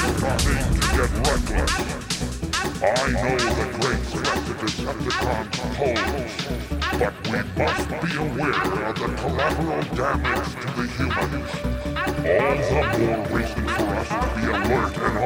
starting to get reckless. I know the great threat the Decepticons pose, but we must be aware of the collateral damage to the humans. All the more reason for us to be alert and